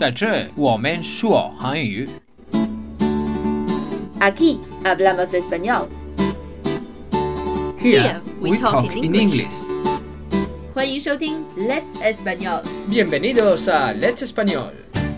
在这我们说韩语。 Aquí hablamos español. Here we talk in English. 欢迎收听 Let's Español. Bienvenidos a Let's Español.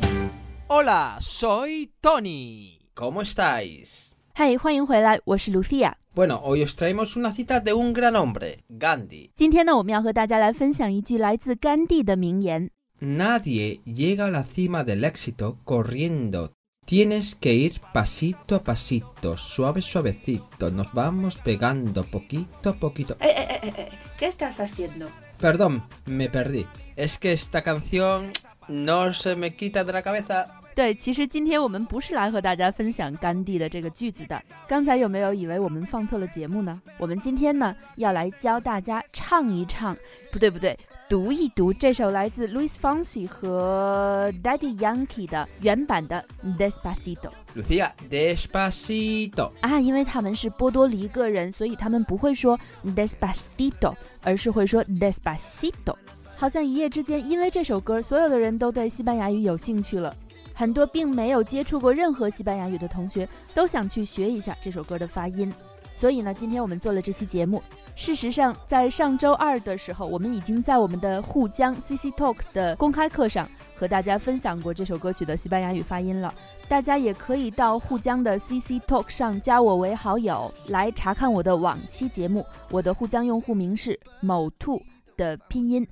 Hola, soy Tony. ¿Cómo estáis? 嗨，欢迎回来，我是 Lucia。Bueno, hoy os traemos una cita de un gran hombre, Gandhi. 今天呢，我们要和大家来分享一句来自甘地的名言。 Nadie llega a la cima del éxito corriendo. Tienes que ir pasito a pasito, suave suavecito. Nos vamos pegando poquito a poquito. ¿Qué estás haciendo? Perdón, me perdí. Es que esta canción no se me quita de la cabeza. 对，其实今天我们不是来和大家分享甘地的这个句子的。刚才有没有以为我们放错了节目呢？我们今天呢要来教大家唱一唱，不对，读一读这首来自 Luis Fonsi 和 Daddy Yankee 的原版的 Despacito。 Lucia, Despacito 啊，因为他们是波多黎各人，所以他们不会说 Despacito， 而是会说 Despacito。 好像一夜之间，因为这首歌，所有的人都对西班牙语有兴趣了。很多并没有接触过任何西班牙语的同学都想去学一下这首歌的发音，所以呢，今天我们做了这期节目。事实上，在上周二的时候，我们已经在我们的沪江 CC Talk 的公开课上和大家分享过这首歌曲的西班牙语发音了。大家也可以到沪江的 CC Talk 上加我为好友，来查看我的往期节目。我的沪江用户名是某兔的拼音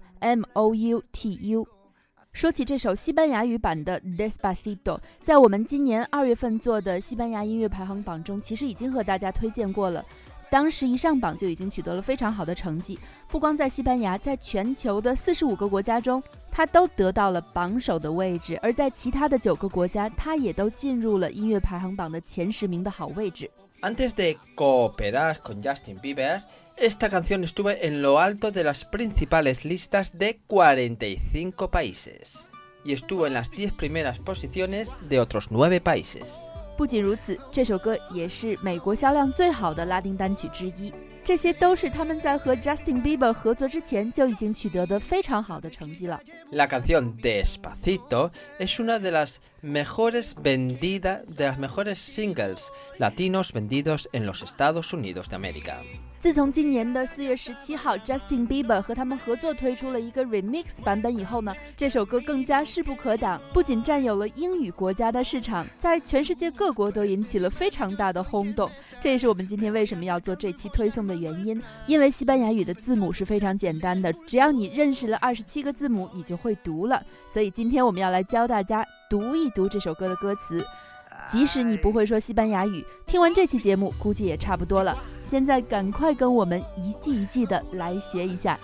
MOUTU。说起这首西班牙语版的 Despacito， 在我们今年2月份做的西班牙音乐排行榜中，其实已经和大家推荐过了。当时一上榜就已经取得了非常好的成绩，不光在西班牙，在全球的45个国家中，它都得到了榜首的位置，而在其他的9个国家，它也都进入了音乐排行榜的前10名的好位置。 Antes de cooperar con Justin Bieber，Esta canción estuvo en lo alto de las principales listas de 45 países y estuvo en las 10 primeras posiciones de otros 9 países. 不仅如此，这首歌也是美国销量最好的拉丁单曲之一。这些都是他们在和 Justin Bieber 合作之前就已经取得的非常好的成绩了。 La canción Despacito es una de las mejores vendidas, de las mejores singles latinos vendidos en los Estados Unidos de América. 自从今年的4月17号 Justin Bieber 和他们合作推出了一个 remix 版本以后呢，这首歌更加势不可挡，不仅占有了英语国家的市场，在全世界各国都引起了非常大的轰动。这也是我们今天为什么要做这期推送的原因，因为西班牙语的字母是非常简单的，只要你认识了27个字母，你就会读了。所以今天我们要来教大家读一读这首歌的歌词。即使你不会说西班牙语，听完这期节目估计也差不多了。现在赶快跟我们一句一句的来学一下。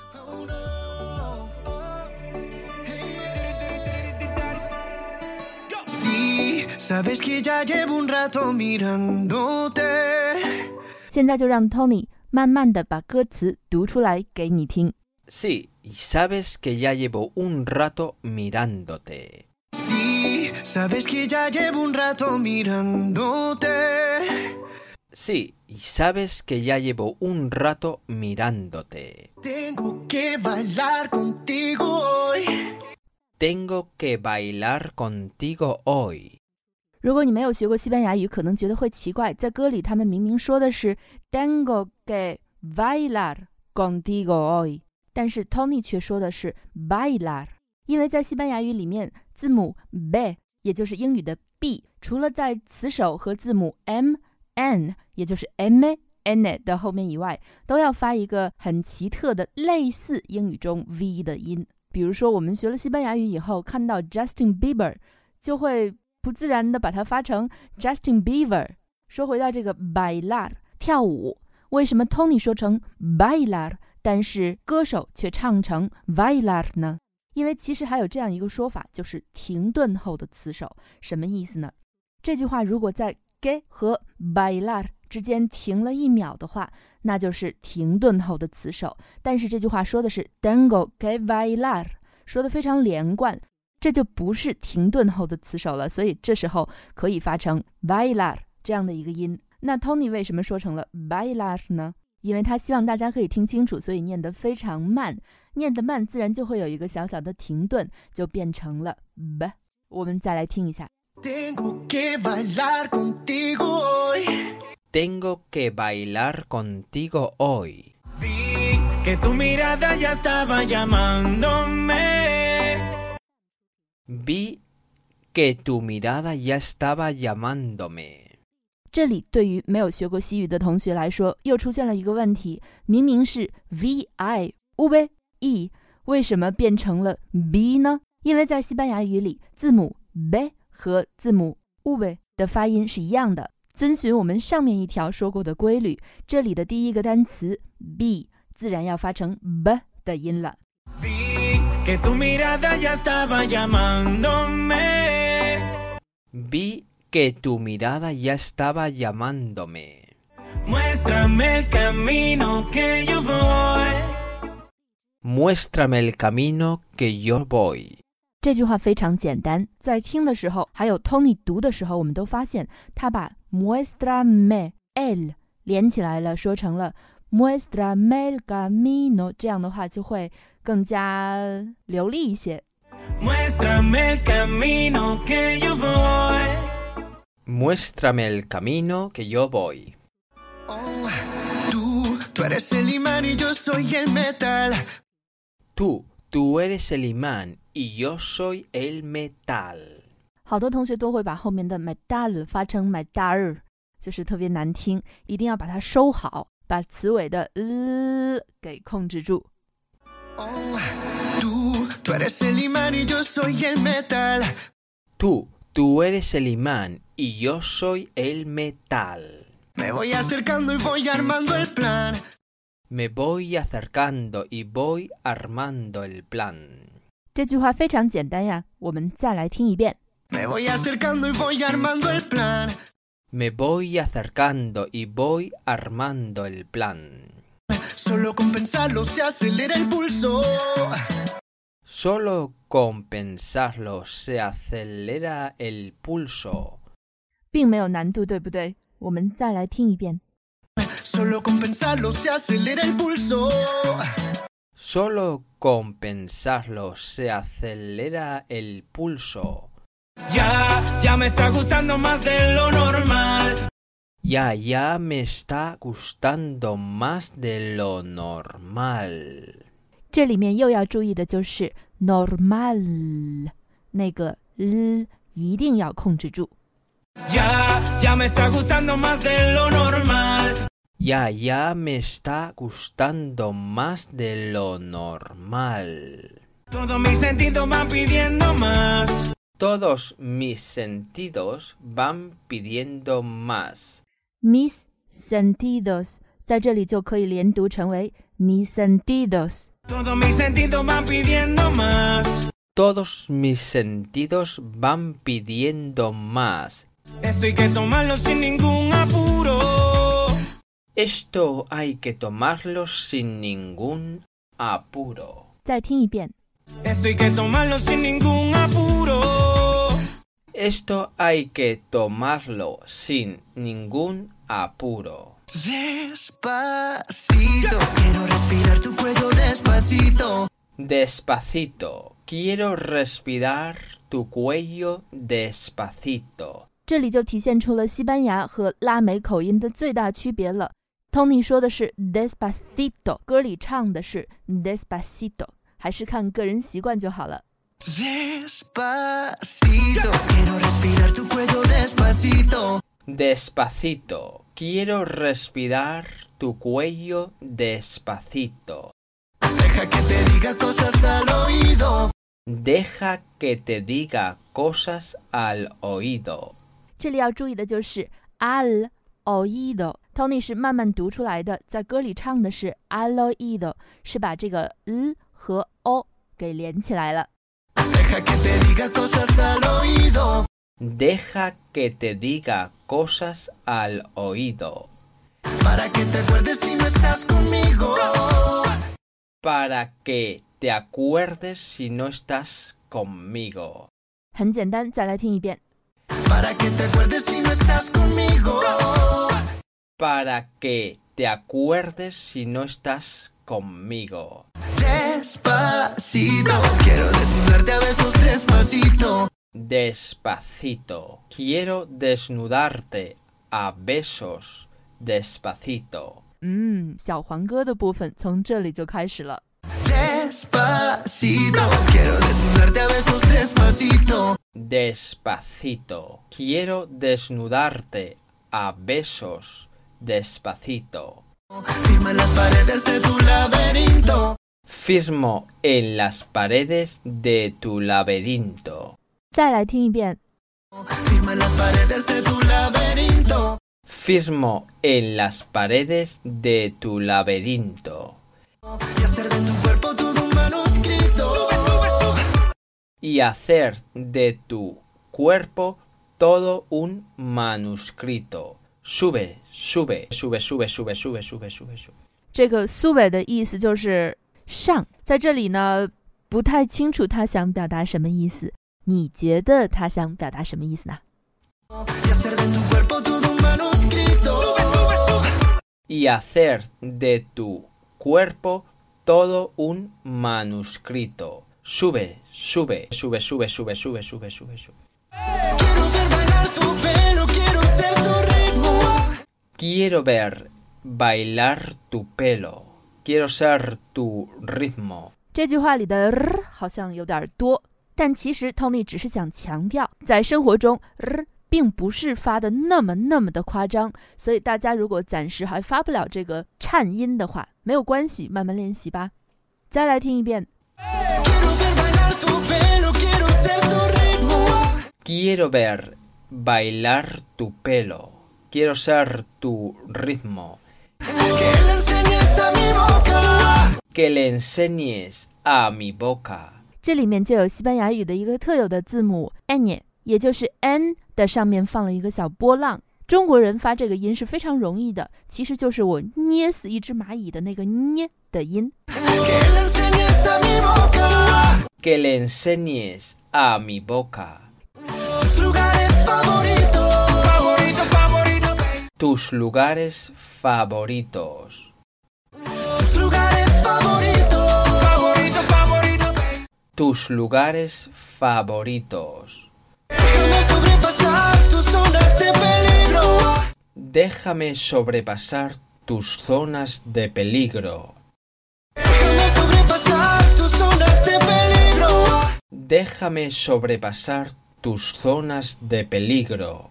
现在就让 Tony 慢慢的把歌词读出来给你听。 Sí, y sabes que ya llevo un rato mirándote.Sí, sabes que ya llevo un rato mirándote. Sí, y sabes que ya llevo un rato mirándote. Tengo que bailar contigo hoy. Tengo que bailar contigo hoy. 如果你没有学过西班牙语，可能觉得会奇怪，在歌里他们明明说的是 Tengo que bailar contigo hoy， 但是 Tony 却说的是 bailar。因为在西班牙语里面，字母 b 也就是英语的 b， 除了在词首和字母 m、n 也就是 m、n 的后面以外，都要发一个很奇特的类似英语中 v 的音。比如说我们学了西班牙语以后，看到 Justin Bieber 就会不自然的把它发成 Justin Bieber。 说回到这个 bailar 跳舞，为什么 Tony 说成 bailar， 但是歌手却唱成 bailar 呢？因为其实还有这样一个说法，就是停顿后的词首。什么意思呢？这句话如果在 que 和 bailar 之间停了1秒的话，那就是停顿后的词首。但是这句话说的是 tengo que bailar， 说的非常连贯，这就不是停顿后的词首了，所以这时候可以发成 bailar 这样的一个音。那 Tony 为什么说成了 bailar 呢？因为他希望大家可以听清楚，所以念得非常慢，念得慢自然就会有一个小小的停顿，就变成了 b 我们再来听一下。 Tengo que bailar contigo hoy. Tengo que bailar contigo hoy. Vi que tu mirada ya estaba llamándome. Vi que tu mirada ya estaba llamándome. 这里对于没有学过西语的同学来说，又出现了一个问题，明明是 vi ube e， 为什么变成了 b 呢？因为在西班牙语里，字母 b 和字母 ube 的发音是一样的。遵循我们上面一条说过的规律，这里的第一个单词 b 自然要发成 b 的音了。 Vi que tu mirada ya estaba llamándome. Vi que tu mirada ya estaba llamándome. Muéstrame el camino que yo voy. Muéstrame el camino que yo voy. 这句话非常简单，在听的时候，还有 Tony 读的时候，我们都发现他把 muéstrame el 连起来了，说成了 muéstrame el camino， 这样的话就会更加流利一些。 Muéstrame el camino que yo voy. Muéstrame el camino que yo voy. Oh, tú eres el imán y yo soy el metal. Tú eres el imán y yo soy el metal. 好多同学都会把后面的 metal 发成 metal， 就是特别难听，一定要把它收好，把词尾的给控制住。 Oh, tú eres el imán y yo soy el metal. Tú eres el imán y yo soy el metal. Me voy acercando y voy armando el plan. Me voy acercando y voy armando el plan. 这句话非常简单呀，我们再来听一遍。 Me voy acercando y voy armando el plan. Me voy acercando y voy armando el plan. Solo con pensarlo se acelera el pulso. Solo con pensarlo se acelera el pulso. 并没有难度，对不对？我们再来听一遍。 Solo con pensarlo se acelera el pulso. Solo con pensarlo se acelera el pulso. Ya me está gustando más de lo normal. Ya me está gustando más de lo normal. 这里面又要注意的就是 normal 那个一定要控制住。 Ya me está gustando más de lo normal. Ya me está gustando más de lo normal. Todos mis sentidos van pidiendo más. Todos mis sentidos van pidiendo más. Mis sentidos 在这里就可以连读成为 mis sentidos. Todos mis sentidos van pidiendo más. Todos mis sentidos van pidiendo más. Esto hay que tomarlo sin ningún apuro. Esto hay que tomarlo sin ningún apuro. 再听一遍。 Esto hay que tomarlo sin ningún apuro. Esto hay que tomarlo sin ningún apuro. Despacito, quiero respirar tu cuello despacito. Despacito, quiero respirar tu cuello despacito. 这里就体现出了西班牙和拉美口音的最大区别了。Tony 说的是 despacito， 歌里唱的是 despacito， 还是看个人习惯就好了。 Despacito, quiero respirar tu cuello despacito. Despacito, quiero respirar tu cuello despacito. Deja que te diga cosas al oído. Deja que te diga cosas al oído. 这里要注意的就是 al oído。Tony 是慢慢读出来的，在歌里唱的是 al oído， 是把这个和 o 给连起来了。 Deja que te diga cosas al oído. Deja que te diga cosas al oído. Para que te acuerdes si no estás conmigo. Para que te acuerdes si no estás conmigo. 很简单，再来听一遍。 Para que te acuerdes si no estás conmigo. Para que te acuerdes si no estás conmigo. Despacito, quiero desnudarte a besos despacito. Despacito. Quiero desnudarte a besos despacito. 小黄歌的部分从这里就开始了。 Despacito, quiero desnudarte a besos despacito. Despacito. Quiero desnudarte a besos despacito. Firma en las paredes de tu laberinto. Firmo en las paredes de tu laberinto. 再来听一遍。 Firma en las paredes de tu laberinto. Firmo en las paredes de tu laberinto. Y hacer de tu cuerpo todo un manuscrito. Y hacer de tu cuerpo todo un manuscrito. Sube, sube, sube, sube, sube, sube, sube, sube, sube. 这个 sube 的意思就是上，在这里呢不太清楚他想表达什么意思，你觉得他想表达什么意思呢？ Y hacer de tu cuerpo todo un manuscrito. Y hacer de tu cuerpo todo un manuscrito. Sube, sube, sube, sube, sube, sube, sube, sube, sube. Quiero ver bailar tu pelo, quiero ser tu ritmo. Quiero ver bailar tu pelo. Quiero ser tu ritmo. 这句话里的好像有点多，但其实 Tony 只是想强调，在生活中并不是发的那么的夸张，所以大家如果暂时还发不了这个颤音的话，没有关系，慢慢练习吧。再来听一遍。 Quiero ver bailar tu pelo. Quiero ser tu ritmo. Que le enseñes a mi boca. 这里面就有西班牙语的一个特有的字母 ñ， 也就是 n 的上面放了一个小波浪。中国人发这个音是非常容易的，其实就是我捏死一只蚂蚁的那个捏的音。 Que le enseñes a mi boca. Tus lugares favoritos. Tus lugares favoritos. Déjame sobrepasar tus zonas de peligro. Déjame sobrepasar tus zonas de peligro.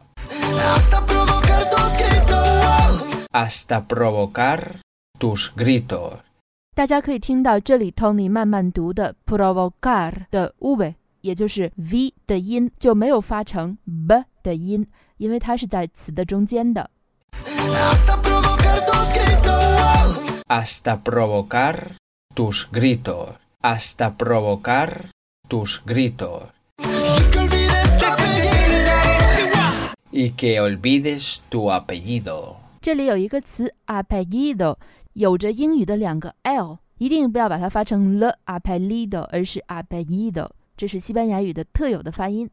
Hasta provocar tus gritos. 大家可以听到这里 Tony 慢慢读的 provocar 的 v， 也就是 v 的音就没有发成 b 的音，因为它是在词的中间的。 Hasta provocar tus gritos. Hasta provocar tus gritos. Y que olvides tu apellido. 这里有一个词 apellido， 有着英语的两个 l， 一定不要把它发成 le apellido， 而是 apellido， 这是西班牙语的特有的发音。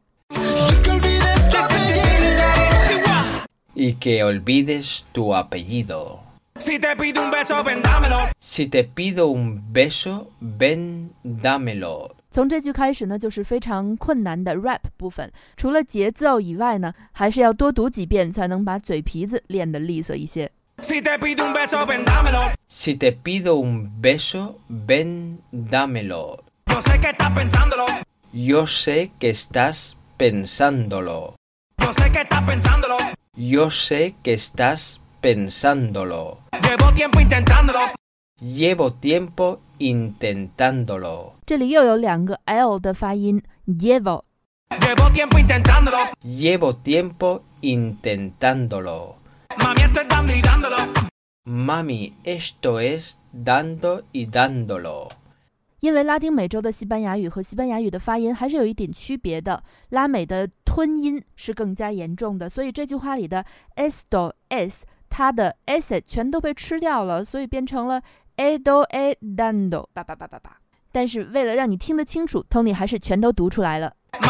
Y que olvides tu apellido. Si te pido un beso, ven dámelo. Si te pido un beso, ven dámelo. 从这句开始呢，就是非常困难的 rap 部分。除了节奏以外呢，还是要多读几遍，才能把嘴皮子练得利索一些。 Si te pido un beso, ven dámelo. Si te pido un beso, ven dámelo. Yo sé que estás pensándolo. Yo sé que estás pensándolo. Yo sé que estás pensándolo. Yo sé que estás pensándolo. Llevo tiempo intentándolo. Llevo tiempo intentándolo. 这里又有两个 l 的发音 llevo. Llevo tiempo intentándolo. Llevo tiempo intentándolo. Mami, esto es dando y dándolo. Mami, esto es dando y dándolo. 因为拉丁美洲的西班牙语和西班牙语的发音还是有一点区别的，拉美的吞音是更加严重的，所以这句话里的 esto es 它的 s 全都被吃掉了，所以变成了 edo e dando 叭叭叭叭叭。但是为了让你听得清楚 Tony 还是全都读出来了。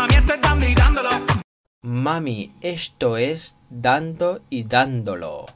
Mami, esto es dando y dándolo.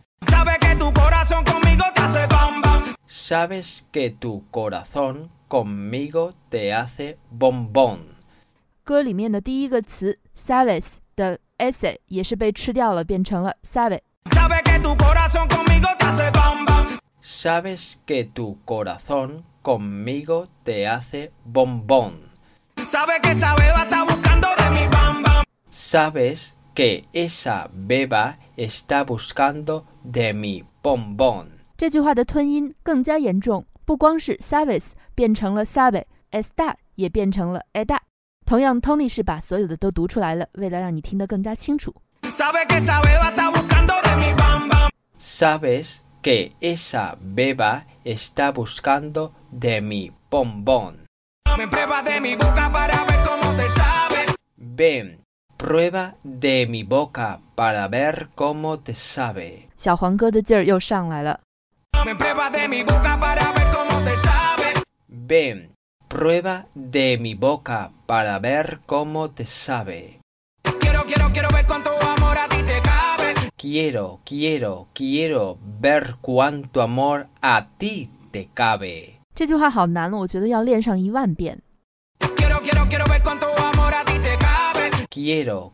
Sabes que tu corazón conmigo te hace bombón. 歌里面的第一个词 sabes 的 ese 也是被吃掉了，变成了 sabe。 Sabes que tu corazón conmigo te hace bam bam. Sabes que tu corazón conmigo te hace bombón. Sabes que esa beba está buscando de mi bam bam. Sabes que esa beba está buscando de mi bombón. 这句话的吞音更加严重，不光是 sabes 变成了 sabe， está 也变成了 eda。 同样 Tony 是把所有的都读出来了，为了让你听得更加清楚。 Sabes que esa beba está buscando de mi bam bam. Sabes que esa beba está buscando de mi bombón. Ven, prueba de mi boca para ver cómo te sabe. Ven, prueba de mi boca para ver cómo te sabe. 小黄歌的劲儿又上来了。 Ven, prueba de mi boca para ver cómo te sabe. Ven, prueba de mi boca para ver cómo te sabe. Quiero ver cuánto amor a ti te cabe. Quiero ver cuánto amor a ti te cabe. 这句话好难了，我觉得要练上10000遍。 Quiero ver cuánto amor a ti te cabe. Quiero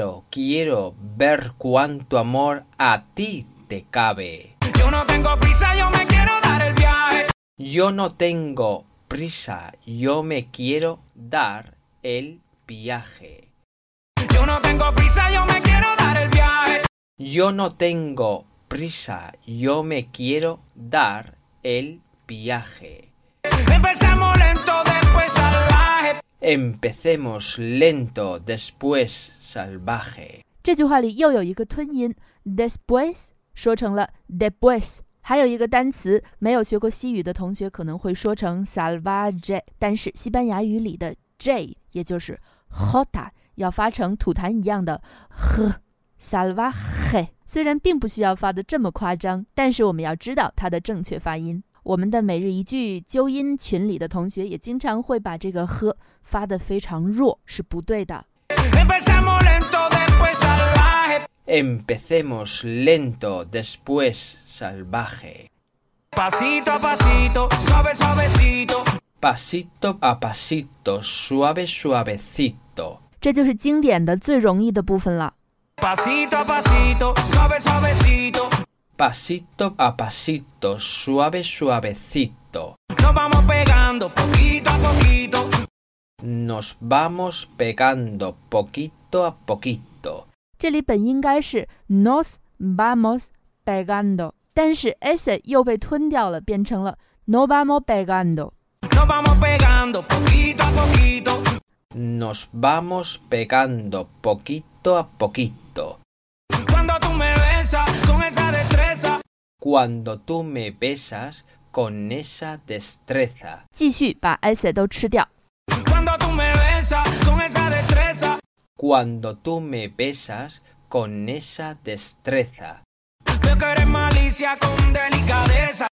ver cuánto amor a ti te cabe. Yo no tengo prisa, yo me quiero dar el viaje. Yo no tengo prisa, yo me quiero dar el viaje. Yo no tengo prisa, yo me quiero dar el viaje. Yo no tengo prisa, yo me quiero dar el viaje. Empezamos lento, después salvaje. Empecemos lento, después salvaje. 这句话里又有一个吞音 después 说成了 después。 还有一个单词，没有学过西语的同学可能会说成 salvaje， 但是西班牙语里的 j 也就是 j 要发成吐痰一样的 h salvaje。 虽然并不需要发得这么夸张，但是我们要知道它的正确发音。我们的每日一句纠音群里的同学也经常会把这个 h 发得非常弱，是不对的。 Empezamos lento, después salvaje. Empecemos lento, después salvaje. Pasito a pasito, suave suavecito. Pasito a pasito, suave suavecito. 这就是经典的最容易的部分了。 Pasito a pasito, suave suavecito. Pasito a pasito, suave suavecito. Nos vamos pegando poquito a poquito. Nos vamos pegando poquito a poquito. 这里本应该是 nos vamos pegando， 但是 ese 又被吞掉了，变成了 no vamos pegando。 Nos vamos pegando poquito a poquito. Nos vamos pegando poquito a poquito. Cuando tú me besas con esa destreza. Cuando tú me besas con esa destreza. 继续把 ese 都吃掉。 Cuando tú me besas con esa destreza. Cuando tú me besas con esa destreza. Veo que eres malicia con delicadeza.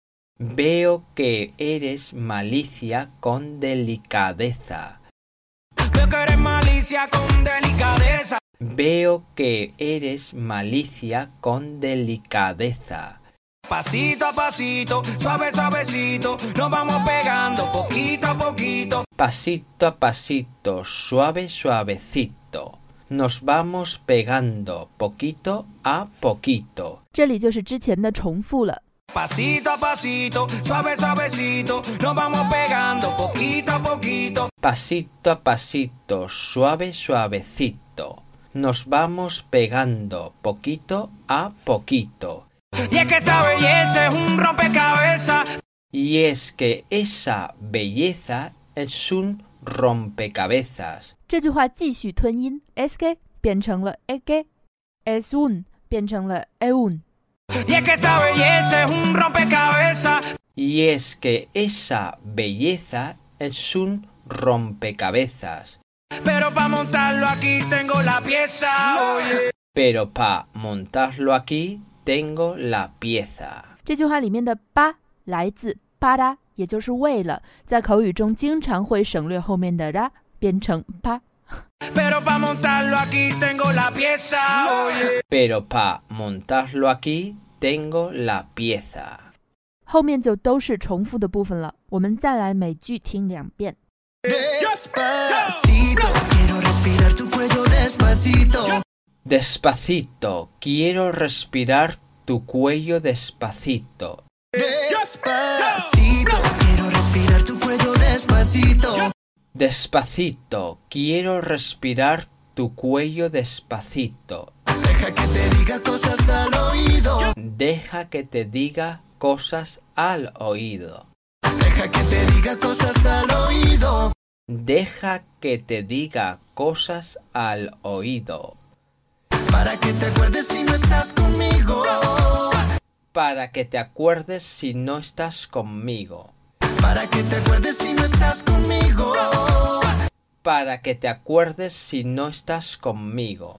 Veo que eres malicia con delicadeza. Veo que eres malicia con delicadeza. Veo que eres malicia con delicadeza. Pasito a pasito, suave suavecito, nos vamos pegando poquito a poquito. Pasito a pasito, suave suavecito. Nos vamos pegando poquito a poquito. 这里就是之前的重复了。 Pasito a pasito, suave suavecito, nos vamos pegando poquito a poquito. Pasito a pasito, suave suavecito. Nos vamos pegando poquito a poquito. Y es que esa belleza es un rompecabezas. Y es que esa belleza es un rompecabezas. 这句话继续吞音 es que 变成了 que es un 变成了 un。 Y es que esa belleza es un rompecabezas. Y es que esa belleza es un rompecabezas. Pero para montarlo aquí tengo la pieza. Oye. Pero para montarlo aquí tengo la pieza. 这句话里面的吧来自巴拉，也就是为了，在口语中经常会省略后面的啦，变成吧。 Pero para montarlo aquí tengo la pieza. Oye. Pero para montarlo aquí tengo la pieza. 后面就都是重复的部分了，我们再来每句听2遍。 Despacito, quiero Despacito, quiero respirar tu cuello despacito. Despacito, quiero respirar tu cuello despacito. Despacito, quiero respirar tu cuello despacito. Deja que te diga cosas al oído. Deja que te diga cosas al oído. Deja que te diga cosas al oído. Deja que te diga cosas al oído. Para que te acuerdes si no estás conmigo. Para que te acuerdes si no estás conmigo. Para que te acuerdes si no estás conmigo. Para que te acuerdes si no estás conmigo.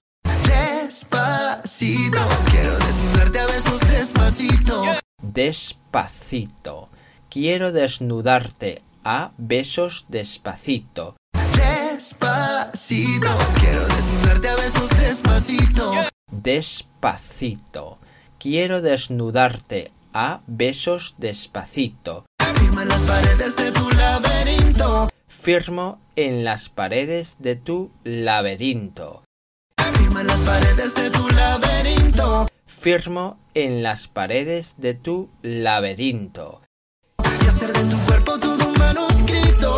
Despacito, quiero desnudarte a besos despacito. Despacito, quiero desnudarte a besos despacito. Despacito, quiero desnudarte a besos despacito. Despacito, quiero desnudarte a besos despacito. Firma en las paredes de tu laberinto. Firmo en las paredes de tu laberinto. Firma en las paredes de tu laberinto. Firmo en las paredes de tu laberinto. Y hacer de tu cuerpo todo un manuscrito.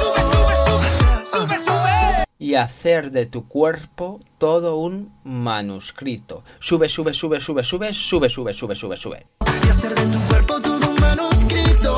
Sube, sube. Y hacer de tu cuerpo todo un manuscrito. Sube, sube, sube, sube, sube, sube, sube, sube, sube, sube. Y hacer de tu cuerpo todo un manuscrito.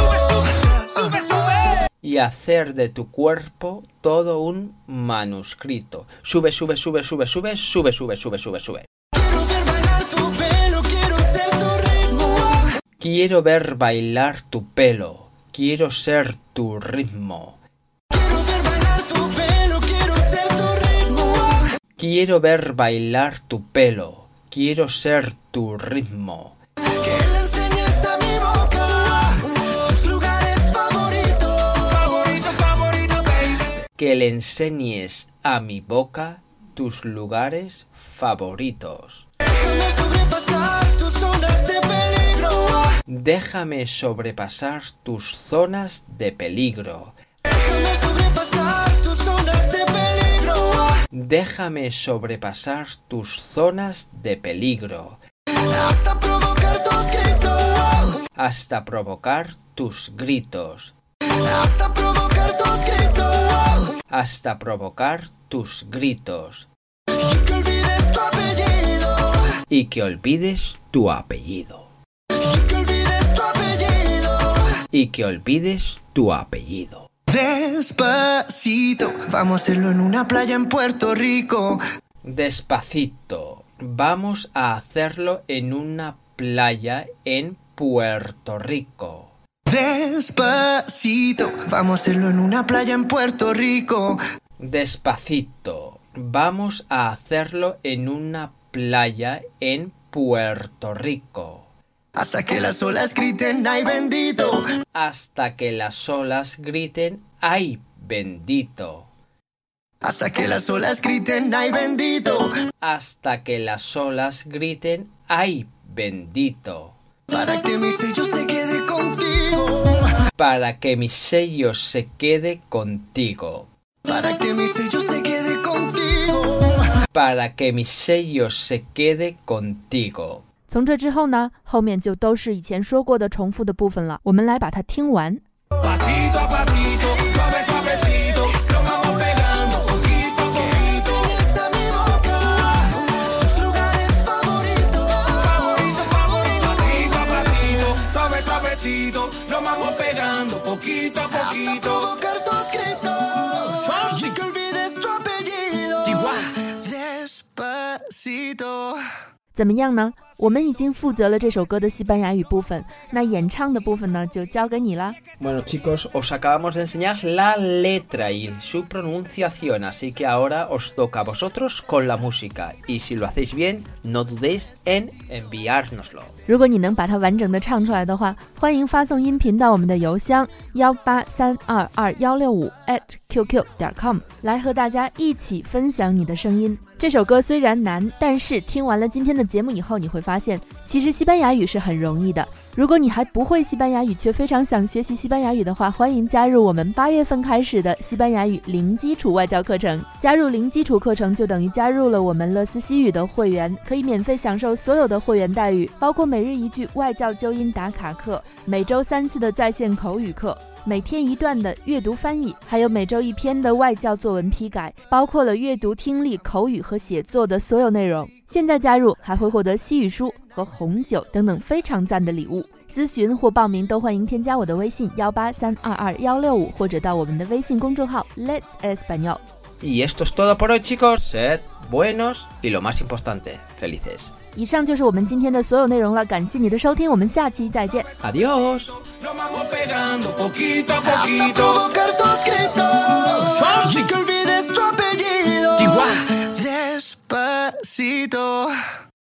Sube, sube. Y hacer de tu cuerpo todo un manuscrito. Sube, sube, sube, sube, sube, sube, sube, sube, sube, sube. Quiero ver bailar tu pelo, quiero ser tu ritmo. Quiero ver bailar tu pelo. Quiero ser tu ritmo. Quiero ver bailar tu pelo, quiero ser tu ritmo. Quiero ver bailar tu pelo. Quiero ser tu ritmo. Que le enseñes a mi boca tus lugares favoritos. Favorito, baby. Que le enseñes a mi boca tus lugares favoritos. Déjame sobrepasar tus zonas de peligro. Déjame sobrepasar tus zonas de peligro. Déjame sobrepasar tus zonas de peligro. Déjame sobrepasar tus zonas de peligro. Hasta provocar tus gritos. Hasta provocar tus gritos. Hasta provocar tus gritos. Hasta provocar tus gritos. Y que olvides tu apellido. Y que olvides tu apellido. Y que olvides tu apellido. Y que olvides tu apellido. Despacito, vamos a hacerlo en una playa en Puerto Rico. Despacito, vamos a hacerlo en una playa en Puerto Rico. Despacito, vamos a hacerlo en una playa en Puerto Rico. Despacito, vamos a hacerlo en una playa en Puerto Rico. Hasta que las olas griten, ¡ay bendito! Hasta que las olas griten, ¡ay bendito! Hasta que las olas griten, ¡ay bendito! Hasta que las olas griten, ¡ay bendito! Para que mi sello se quede contigo. Para que mi sello se quede contigo. Para que mi sello se quede contigo. Para que mi sello se quede contigo. 从这之后呢，后面就都是以前说过的重复的部分了。我们来把它听完。 Pasito a pasito, suave suavecito, lo vamos pegando poquito a poquito. Enseñas a mi boca tus lugares favoritos. Favorito, pasito a pasito, suave suavecito, lo vamos pegando poquito a Hasta poquito. provocar tus gritos. Y que olvides tu apellido. Despacito. 怎么样呢？我们已经负责了这首歌的西班牙语部分，那演唱的部分呢，就交给你了。 Bueno chicos, os acabamos de enseñar la letra y su pronunciación, así que ahora os toca a vosotros con la música. Y si lo hacéis bien, no dudéis en enviárnoslo. 如果你能把它完整的唱出来的话，欢迎发送音频到我们的邮箱183222165@qq.com 来和大家一起分享你的声音。这首歌虽然难，但是听完了今天的节目以后，你会发现其实西班牙语是很容易的。 如果你还不会西班牙语，却非常想学习西班牙语的话，欢迎加入我们8月份开始的西班牙语零基础外教课程。加入零基础课程就等于加入了我们乐思西语的会员，可以免费享受所有的会员待遇，包括每日一句外教纠音打卡课，每周3次的在线口语课，每天1段的阅读翻译，还有每周1篇的外教作文批改，包括了阅读、听力、口语和写作的所有内容。现在加入还会获得西语书和红酒等等非常赞的礼物。咨询或报名都欢迎添加我的微信183222165，或者到我们的微信公众号 Let's Español。 Y esto es todo por hoy, chicos. Sed buenos y lo más importante, felices. 以上就是我们今天的所有内容了，感谢你的收听，我们下期再见。 Adiós. Nos vamos pegando poquito a poquito. Hasta provocar tus gritos. Sin que olvides tu apellido. Despacito.